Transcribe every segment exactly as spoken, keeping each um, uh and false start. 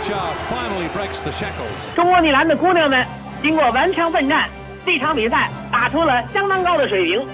中国女篮的姑娘们经过顽强奋战，这场比赛打出了相当高的水平。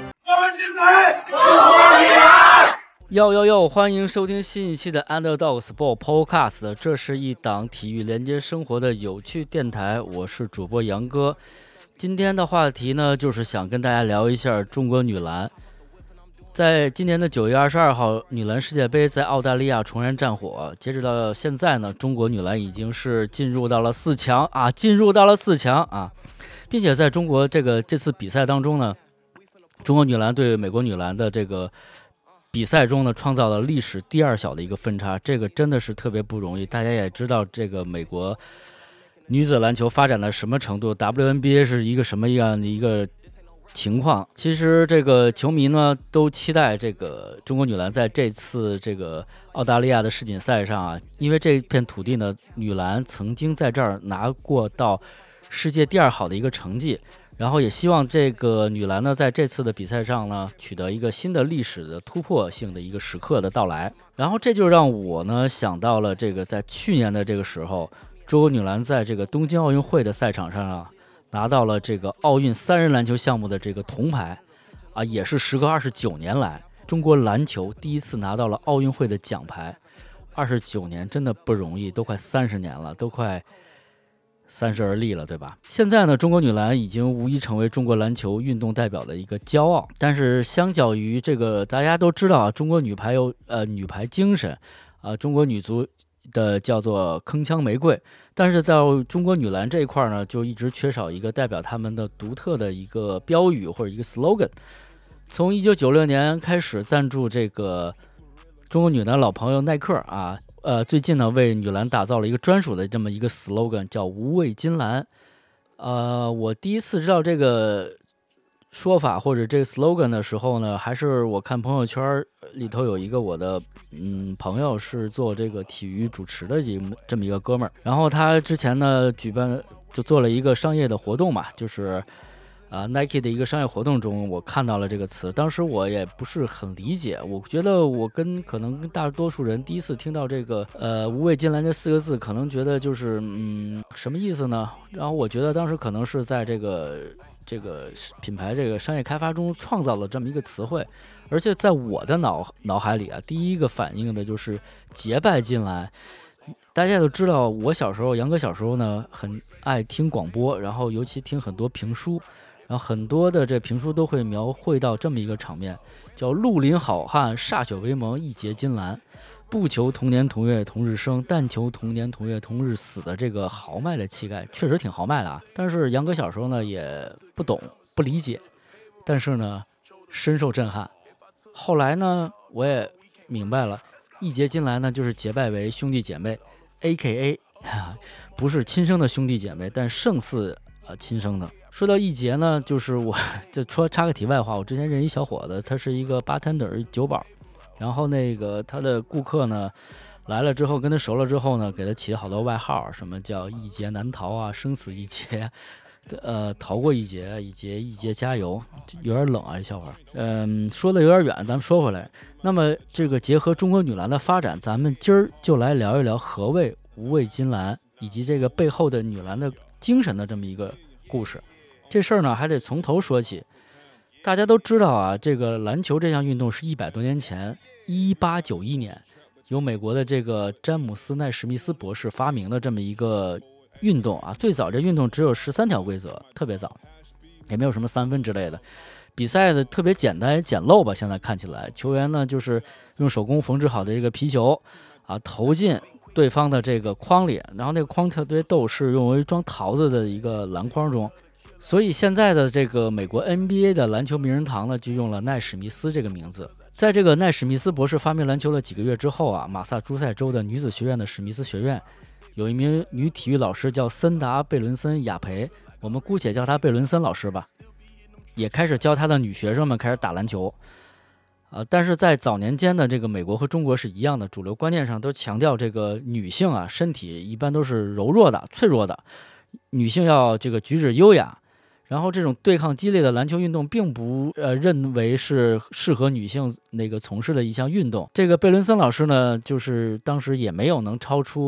哟哟哟！欢迎收听新一期的 Underdog Sport Podcast， 这是一档体育连接生活的有趣电台，我是主播杨哥。今天的话题呢，就是想跟大家聊一下中国女篮。在今年的九月二十二号，女篮世界杯在澳大利亚重燃战火。截止到现在呢，中国女篮已经是进入到了四强啊，进入到了四强啊，并且在中国这个这次比赛当中呢，中国女篮对美国女篮的这个比赛中呢，创造了历史第二小的一个分差，这个真的是特别不容易。大家也知道，这个美国女子篮球发展到什么程度 ，W N B A 是一个什么样的一个情况。其实这个球迷呢都期待这个中国女篮在这次这个澳大利亚的世锦赛上啊，因为这片土地呢，女篮曾经在这儿拿过到世界第二好的一个成绩。然后也希望这个女篮呢，在这次的比赛上呢，取得一个新的历史的突破性的一个时刻的到来。然后这就让我呢想到了这个在去年的这个时候，中国女篮在这个东京奥运会的赛场上啊，拿到了这个奥运三人篮球项目的这个铜牌，啊，也是时隔二十九年来，中国篮球第一次拿到了奥运会的奖牌。二十九年真的不容易，都快三十年了，都快三十而立了，对吧？现在呢，中国女篮已经无疑成为中国篮球运动代表的一个骄傲。但是相较于这个，大家都知道啊，中国女排有呃女排精神，啊、呃，中国女足的叫做铿锵玫瑰。但是到中国女篮这一块呢，就一直缺少一个代表他们的独特的一个标语或者一个 slogan。从一九九六年开始赞助这个中国女篮老朋友耐克啊。呃，最近呢，为女篮打造了一个专属的这么一个 slogan， 叫无畏金兰。呃，我第一次知道这个说法或者这个 slogan 的时候呢，还是我看朋友圈里头有一个我的嗯朋友是做这个体育主持的这么一个哥们儿，然后他之前呢举办就做了一个商业的活动嘛，就是啊、uh, Nike 的一个商业活动中，我看到了这个词，当时我也不是很理解，我觉得我跟可能跟大多数人第一次听到这个呃无畏金兰这四个字，可能觉得就是嗯什么意思呢？然后我觉得当时可能是在这个这个品牌这个商业开发中创造了这么一个词汇，而且在我的脑脑海里啊，第一个反应的就是结拜金兰。大家都知道，我小时候杨哥小时候呢很爱听广播，然后尤其听很多评书。然后很多的这评书都会描绘到这么一个场面，叫绿林好汉歃血为盟，义结金兰，不求同年同月同日生，但求同年同月同日死的这个豪迈的气概，确实挺豪迈的啊。但是杨哥小时候呢也不懂不理解，但是呢深受震撼。后来呢我也明白了，义结金兰呢就是结拜为兄弟姐妹 A K A 不是亲生的兄弟姐妹，但胜似呃亲生的。说到义结呢，就是我就说插个题外话，我之前认识一小伙子，他是一个 bartender 酒保，然后那个他的顾客呢来了之后，跟他熟了之后呢，给他起了好多外号，什么叫义结难逃啊，生死一劫，呃，逃过一劫，一劫一劫加油，有点冷啊，这笑话。嗯，说的有点远，咱们说回来。那么这个结合中国女篮的发展，咱们今儿就来聊一聊何谓无畏金兰，以及这个背后的女篮的精神的这么一个故事。这事儿呢还得从头说起。大家都知道啊，这个篮球这项运动是一百多年前一八九一年由美国的这个詹姆斯奈史密斯博士发明的这么一个运动啊。最早这运动只有十三条规则，特别早，也没有什么三分之类的，比赛的特别简单简陋吧，现在看起来球员呢就是用手工缝制好的这个皮球啊投进对方的这个筐里，然后那个筐特别逗，是用为装桃子的一个篮筐中。所以现在的这个美国 N B A 的篮球名人堂呢，就用了奈史密斯这个名字。在这个奈史密斯博士发明篮球了几个月之后啊，马萨诸塞州的女子学院的史密斯学院有一名女体育老师叫森达贝伦森雅培，我们姑且叫她贝伦森老师吧，也开始教她的女学生们开始打篮球。呃，但是在早年间的这个美国和中国是一样的，主流观念上都强调这个女性啊，身体一般都是柔弱的、脆弱的，女性要这个举止优雅。然后这种对抗激烈的篮球运动并不呃认为是适合女性那个从事的一项运动。这个贝伦森老师呢，就是当时也没有能超出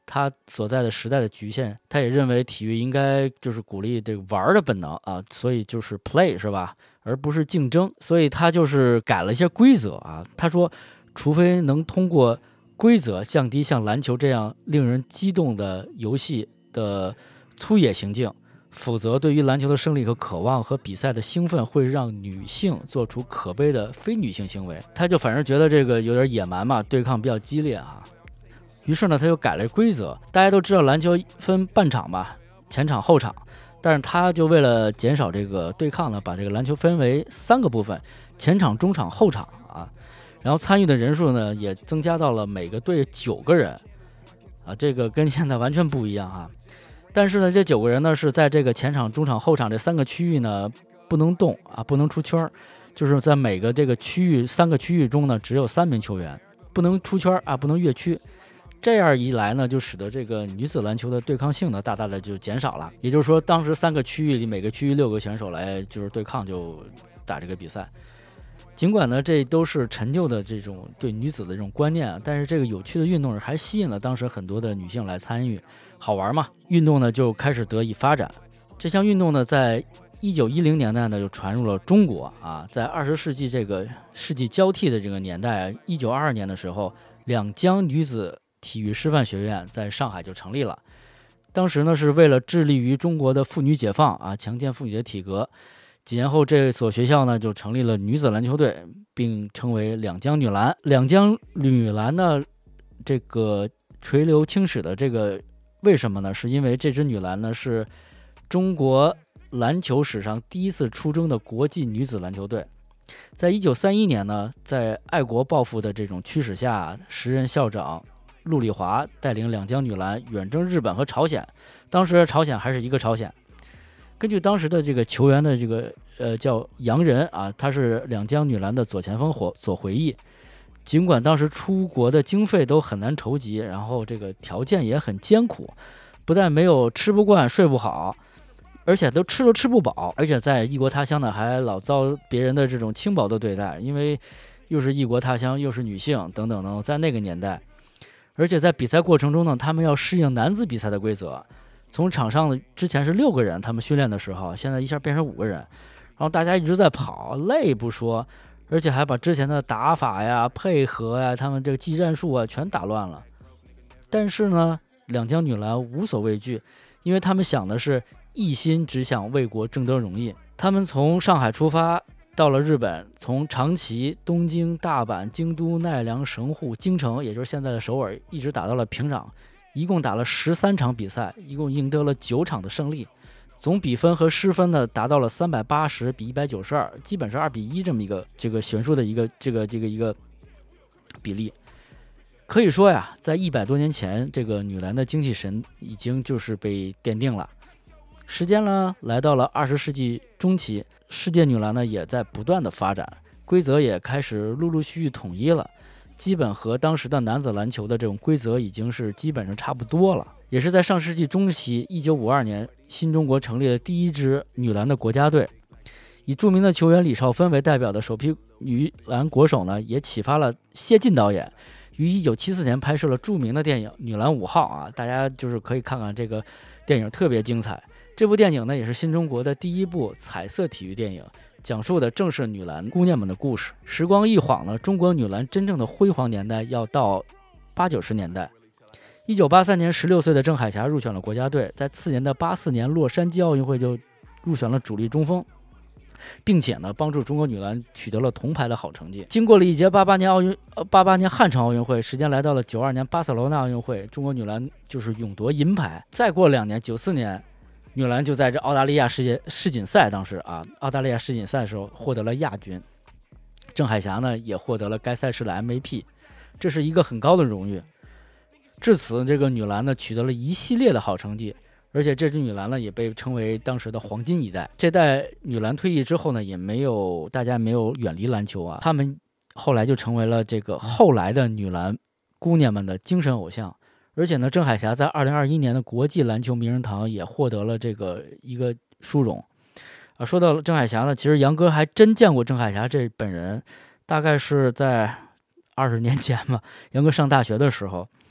他所在的时代的局限，他也认为体育应该就是鼓励这个玩的本能啊，所以就是 play 是吧，而不是竞争，所以他就是改了一些规则啊。他说，除非能通过规则降低像篮球这样令人激动的游戏的粗野行径，否则对于篮球的胜利和渴望和比赛的兴奋会让女性做出可悲的非女性行为。他就反正觉得这个有点野蛮嘛，对抗比较激烈啊。于是呢，他就改了规则。大家都知道篮球分半场吧，前场后场，但是他就为了减少这个对抗呢，把这个篮球分为三个部分，前场、中场、后场啊。然后参与的人数呢也增加到了每个队九个人啊，这个跟现在完全不一样啊。但是呢，这九个人呢是在这个前场、中场、后场这三个区域呢不能动啊，不能出圈，就是在每个这个区域三个区域中呢只有三名球员，不能出圈啊，不能越区。这样一来呢，就使得这个女子篮球的对抗性呢大大的就减少了。也就是说，当时三个区域里每个区域六个选手来就是对抗，就打这个比赛。尽管呢，这都是陈旧的这种对女子的这种观念啊，但是这个有趣的运动还吸引了当时很多的女性来参与，好玩嘛，运动呢就开始得以发展。这项运动呢，在一九一零年代呢就传入了中国啊，在二十世纪这个世纪交替的这个年代，一九二二年的时候，两江女子体育师范学院在上海就成立了。当时呢是为了致力于中国的妇女解放啊，强健妇女的体格。几年后，这所学校呢就成立了女子篮球队，并称为两江女篮。两江女篮呢，这个垂流青史的这个为什么呢？是因为这支女篮呢是中国篮球史上第一次出征的国际女子篮球队。在一九三一年呢，在爱国抱负的这种驱使下，时任校长陆丽华带领两江女篮远征日本和朝鲜，当时朝鲜还是一个朝鲜。根据当时的这个球员的这个呃叫杨仁啊，他是两江女篮的左前锋所回忆，尽管当时出国的经费都很难筹集，然后这个条件也很艰苦，不但没有吃不惯睡不好，而且都吃都吃不饱，而且在异国他乡呢还老遭别人的这种轻薄的对待，因为又是异国他乡又是女性等等等，在那个年代，而且在比赛过程中呢，他们要适应男子比赛的规则。从场上之前是六个人，他们训练的时候，现在一下变成五个人，然后大家一直在跑，累不说，而且还把之前的打法呀、配合呀、他们这个技战术啊全打乱了。但是呢，两江女篮无所畏惧，因为他们想的是一心只想为国争得荣誉。他们从上海出发，到了日本，从长崎、东京、大阪、京都、奈良、神户、京城，也就是现在的首尔，一直打到了平壤。一共打了十三场比赛，一共赢得了九场的胜利，总比分和失分呢达到了三百八十比一百九十二，基本是二比一这么一个这个悬殊的一个这个这个一个比例。可以说呀，在一百多年前，这个女篮的精气神已经就是被奠定了。时间呢来到了二十世纪中期，世界女篮呢也在不断的发展，规则也开始陆陆续续统一了。基本和当时的男子篮球的这种规则已经是基本上差不多了。也是在上世纪中期，一九五二年，新中国成立了第一支女篮的国家队，以著名的球员李少芬为代表的首批女篮国手呢，也启发了谢晋导演，于一九七四年拍摄了著名的电影《女篮五号》啊，大家就是可以看看这个电影，特别精彩。这部电影呢，也是新中国的第一部彩色体育电影。讲述的正是女篮姑娘们的故事。时光一晃呢，中国女篮真正的辉煌年代要到八九十年代。一九八三年，十六岁的郑海霞入选了国家队，在次年的八四年洛杉矶奥运会就入选了主力中锋，并且呢，帮助中国女篮取得了铜牌的好成绩。经过了一届八八年奥运，呃，八八年汉城奥运会，时间来到了九二年巴塞罗那奥运会，中国女篮就是勇夺银牌。再过两年，九四年。女篮就在这澳大利亚世界世锦赛，当时啊，澳大利亚世锦赛的时候获得了亚军。郑海霞呢也获得了该赛事的 M V P， 这是一个很高的荣誉。至此，这个女篮呢取得了一系列的好成绩，而且这支女篮呢也被称为当时的黄金一代。这代女篮退役之后呢，也没有大家没有远离篮球啊，她们后来就成为了这个后来的女篮姑娘们的精神偶像。而且呢，郑海霞在二零二一年的国际篮球名人堂也获得了这个一个殊荣。啊，说到了郑海霞呢，其实杨哥还真见过郑海霞这本人，大概是在二十年前吧，杨哥上大学的时候，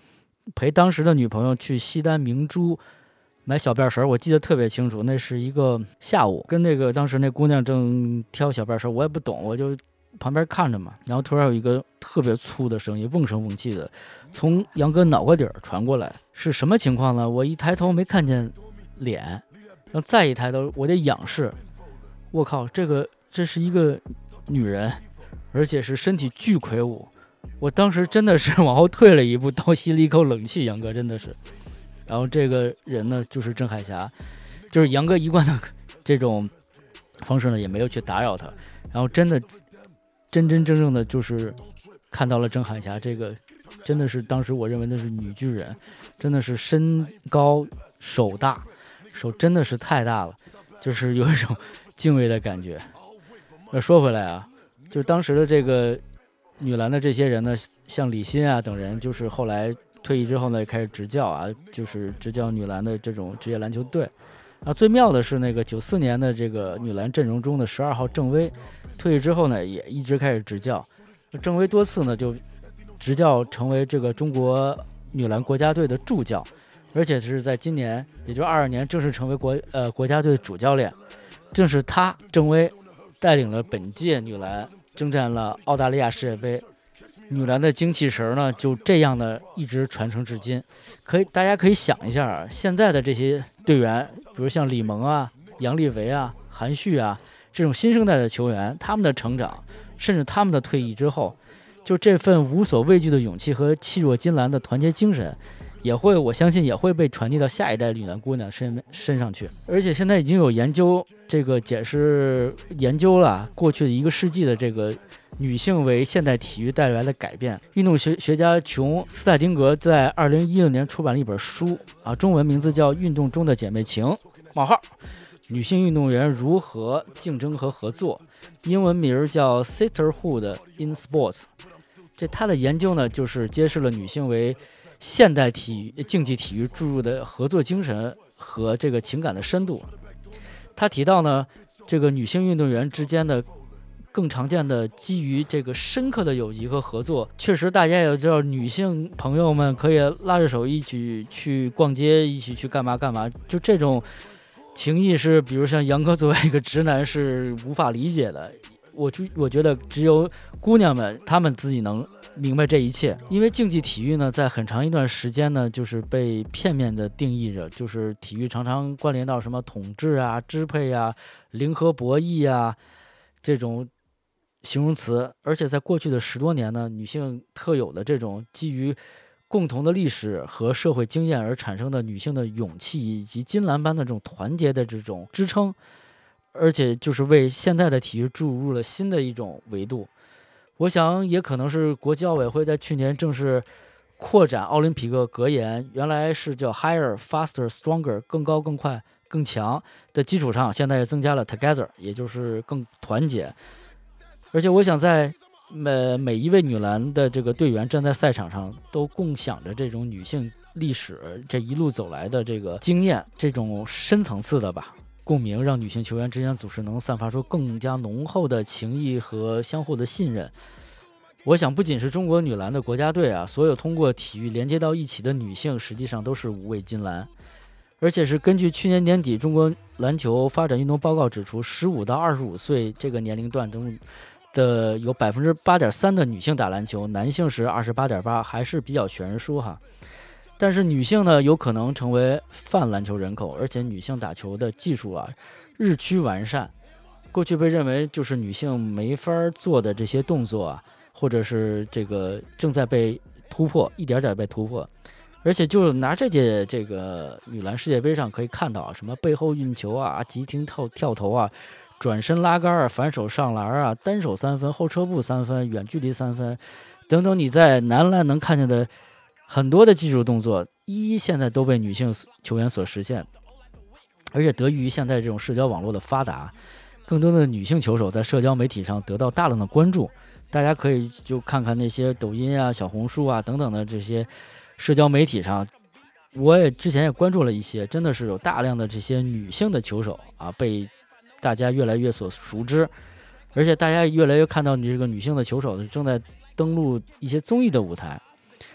陪当时的女朋友去西单明珠买小辫绳，我记得特别清楚，那是一个下午，跟那个当时那姑娘正挑小辫绳，我也不懂，我就旁边看着嘛，然后突然有一个特别粗的声音，瓮声瓮气的从杨哥脑瓜底儿传过来，是什么情况呢？我一抬头没看见脸，然后再一抬头我得仰视，我靠，这个这是一个女人，而且是身体巨魁梧，我当时真的是往后退了一步，倒吸了一口冷气，杨哥真的是。然后这个人呢就是郑海霞，就是杨哥一贯的这种方式呢也没有去打扰他，然后真的真真正正的就是看到了郑海霞这个真的是当时我认为那是女巨人，真的是身高手大，手真的是太大了，就是有一种敬畏的感觉。那说回来啊，就是当时的这个女篮的这些人呢，像李欣啊等人，就是后来退役之后呢开始执教啊，就是执教女篮的这种职业篮球队啊。最妙的是那个九四年的这个女篮阵容中的十二号郑薇退役之后呢也一直开始执教，郑薇多次呢就执教成为这个中国女篮国家队的助教，而且是在今年也就二二年正式成为国呃国家队主教练。正是他郑薇带领了本届女篮征战了澳大利亚世界杯，女篮的精气神呢就这样的一直传承至今。可以大家可以想一下啊，现在的这些队员，比如像李萌啊、杨丽维啊、韩旭啊这种新生代的球员，他们的成长甚至他们的退役之后，就这份无所畏惧的勇气和气若金兰的团结精神，也会我相信也会被传递到下一代女篮姑娘身身上去。而且现在已经有研究这个解释研究了过去的一个世纪的这个女性为现代体育带来的改变。运动学学家琼斯泰丁格在二零一六年出版了一本书啊，中文名字叫《运动中的姐妹情》冒号女性运动员如何竞争和合作，英文名叫 Sisterhood in Sports。 这他的研究呢就是揭示了女性为现代体育竞技体育注入的合作精神和这个情感的深度。他提到呢，这个女性运动员之间的更常见的基于这个深刻的友谊和合作，确实大家也知道，女性朋友们可以拉着手一起去逛街，一起去干嘛干嘛，就这种情谊是比如像杨哥作为一个直男是无法理解的。我就我觉得只有姑娘们她们自己能明白这一切。因为竞技体育呢在很长一段时间呢就是被片面的定义着，就是体育常常关联到什么统治啊、支配啊、零和博弈啊这种形容词。而且在过去的十多年呢，女性特有的这种基于共同的历史和社会经验而产生的女性的勇气以及金兰般的这种团结的这种支撑，而且就是为现代的体育注入了新的一种维度。我想也可能是国际奥委会在去年正式扩展奥林匹克格言，原来是叫 Higher, Faster, Stronger 更高更快更强的基础上，现在也增加了 Together 也就是更团结。而且我想在每每一位女篮的这个队员站在赛场上都共享着这种女性历史这一路走来的这个经验，这种深层次的吧共鸣，让女性球员之间组织能散发出更加浓厚的情谊和相互的信任。我想不仅是中国女篮的国家队啊，所有通过体育连接到一起的女性实际上都是五位金兰。而且是根据去年年底中国篮球发展运动报告指出，十五到二十五岁这个年龄段中的有 百分之八点三 的女性打篮球，男性是 二十八点八， 还是比较悬殊哈。但是女性呢有可能成为泛篮球人口，而且女性打球的技术啊日趋完善。过去被认为就是女性没法做的这些动作啊，或者是这个正在被突破，一点点被突破。而且就拿这届这个女篮世界杯上可以看到啊，什么背后运球啊、急停跳跳投啊、转身拉杆啊、反手上篮啊、单手三分、后撤步三分、远距离三分等等，你在男篮能看见的很多的技术动作，一一现在都被女性球员所实现。而且得益于现在这种社交网络的发达，更多的女性球手在社交媒体上得到大量的关注。大家可以就看看那些抖音啊、小红书啊等等的这些社交媒体上，我也之前也关注了一些，真的是有大量的这些女性的球手啊被大家越来越所熟知。而且大家越来越看到你这个女性的球手正在登陆一些综艺的舞台。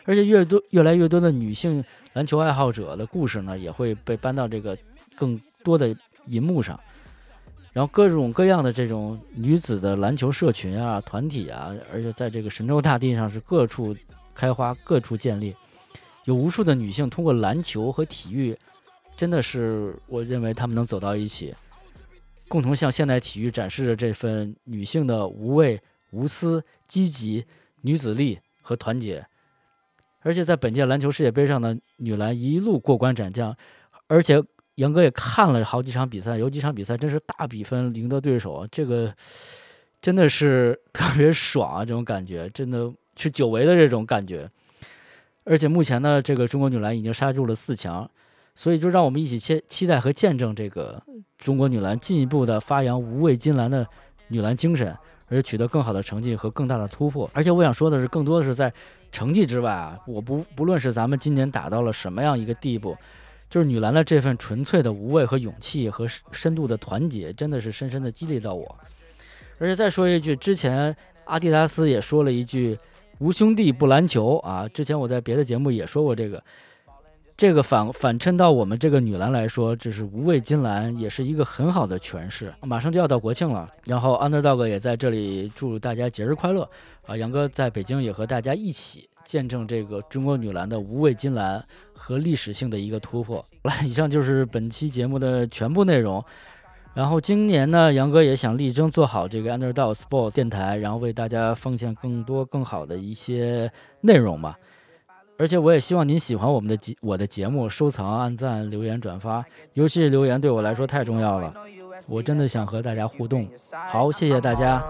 而且越多越来越多的女性篮球爱好者的故事呢，也会被搬到这个更多的银幕上。然后各种各样的这种女子的篮球社群啊、团体啊，而且在这个神州大地上是各处开花、各处建立，有无数的女性通过篮球和体育，真的是我认为她们能走到一起，共同向现代体育展示着这份女性的无畏、无私、积极、女子力和团结。而且在本届篮球世界杯上呢，女篮一路过关斩将，而且杨哥也看了好几场比赛，有几场比赛真是大比分赢得对手，这个真的是特别爽啊！这种感觉真的是久违的这种感觉。而且目前呢，这个中国女篮已经杀入了四强，所以就让我们一起期期待和见证这个中国女篮进一步的发扬无畏金兰的女篮精神，而且取得更好的成绩和更大的突破。而且我想说的是，更多的是在成绩之外啊，我不不论是咱们今年打到了什么样一个地步，就是女篮的这份纯粹的无畏和勇气和深度的团结，真的是深深的激励到我。而且再说一句，之前阿迪达斯也说了一句无兄弟不篮球啊，之前我在别的节目也说过这个，这个反反衬到我们这个女篮来说，这是无畏金兰，也是一个很好的诠释。马上就要到国庆了，然后 Underdog 也在这里祝大家节日快乐啊！杨哥在北京也和大家一起见证这个中国女篮的无畏金兰和历史性的一个突破。好了，以上就是本期节目的全部内容。然后今年呢，杨哥也想力争做好这个 Underdog Sport 电台，然后为大家奉献更多更好的一些内容吧。而且我也希望您喜欢我们的节我的节目，收藏、按赞、留言、转发，尤其是留言对我来说太重要了。我真的想和大家互动。好，谢谢大家。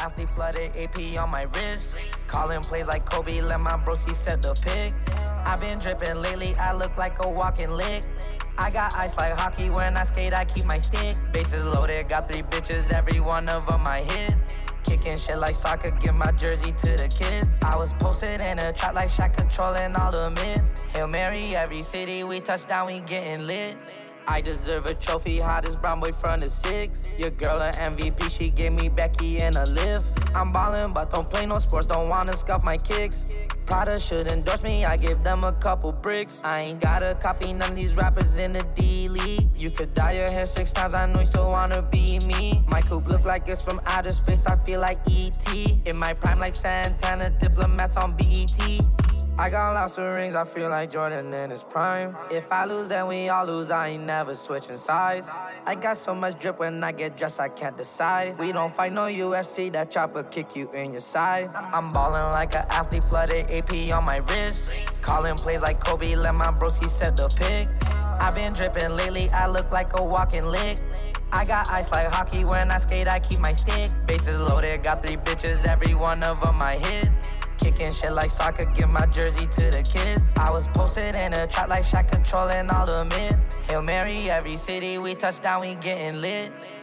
I got ice like hockey when I skate, I keep my stick. Bases loaded, got three bitches, every one of them I hit. Kicking shit like soccer, give my jersey to the kids. I was posted in a trap like Shaq, controlling all the mid. Hail Mary, every city we touch down, we getting lit. I deserve a trophy, hottest brown boy from the six. Your girl an M V P, she gave me Becky in a lift. I'm ballin', but don't play no sports, don't wanna scuff my kicks. Prada should endorse me, I give them a couple bricks. I ain't gotta copy none of these rappers in the D-League. You could dye your hair six times, I know you still wanna be me. My coupe look like it's from outer space, I feel like E T. In my prime like Santana, diplomats on B E T. I got lots of rings, I feel like Jordan in his prime. If I lose, then we all lose, I ain't never switching sides. I got so much drip when I get dressed, I can't decide. We don't fight no U F C, that chopper kick you in your side. I'm ballin' like an athlete, flooded A P on my wrist. Calling plays like Kobe, let my broski set the pick. I've been drippin' lately, I look like a walking lick. I got ice like hockey, when I skate, I keep my stick. Bases loaded, got three bitches, every one of them I hit. Kicking shit like soccer, give my jersey to the kids. I was posted in a trap like Shaq, controlling all the mid. Hail Mary, every city we touch down, we getting lit.